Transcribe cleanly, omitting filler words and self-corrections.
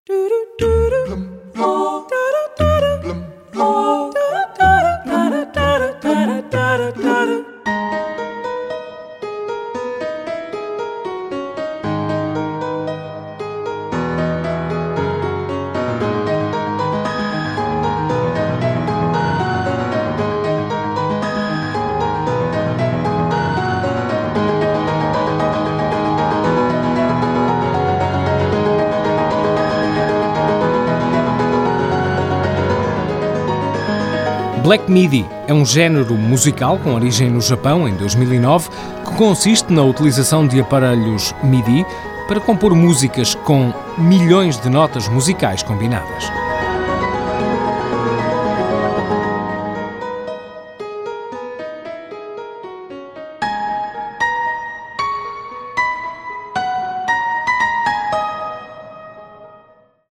Black MIDI é um género musical com origem no Japão em 2009 que consiste na utilização de aparelhos MIDI para compor músicas com milhões de notas musicais combinadas.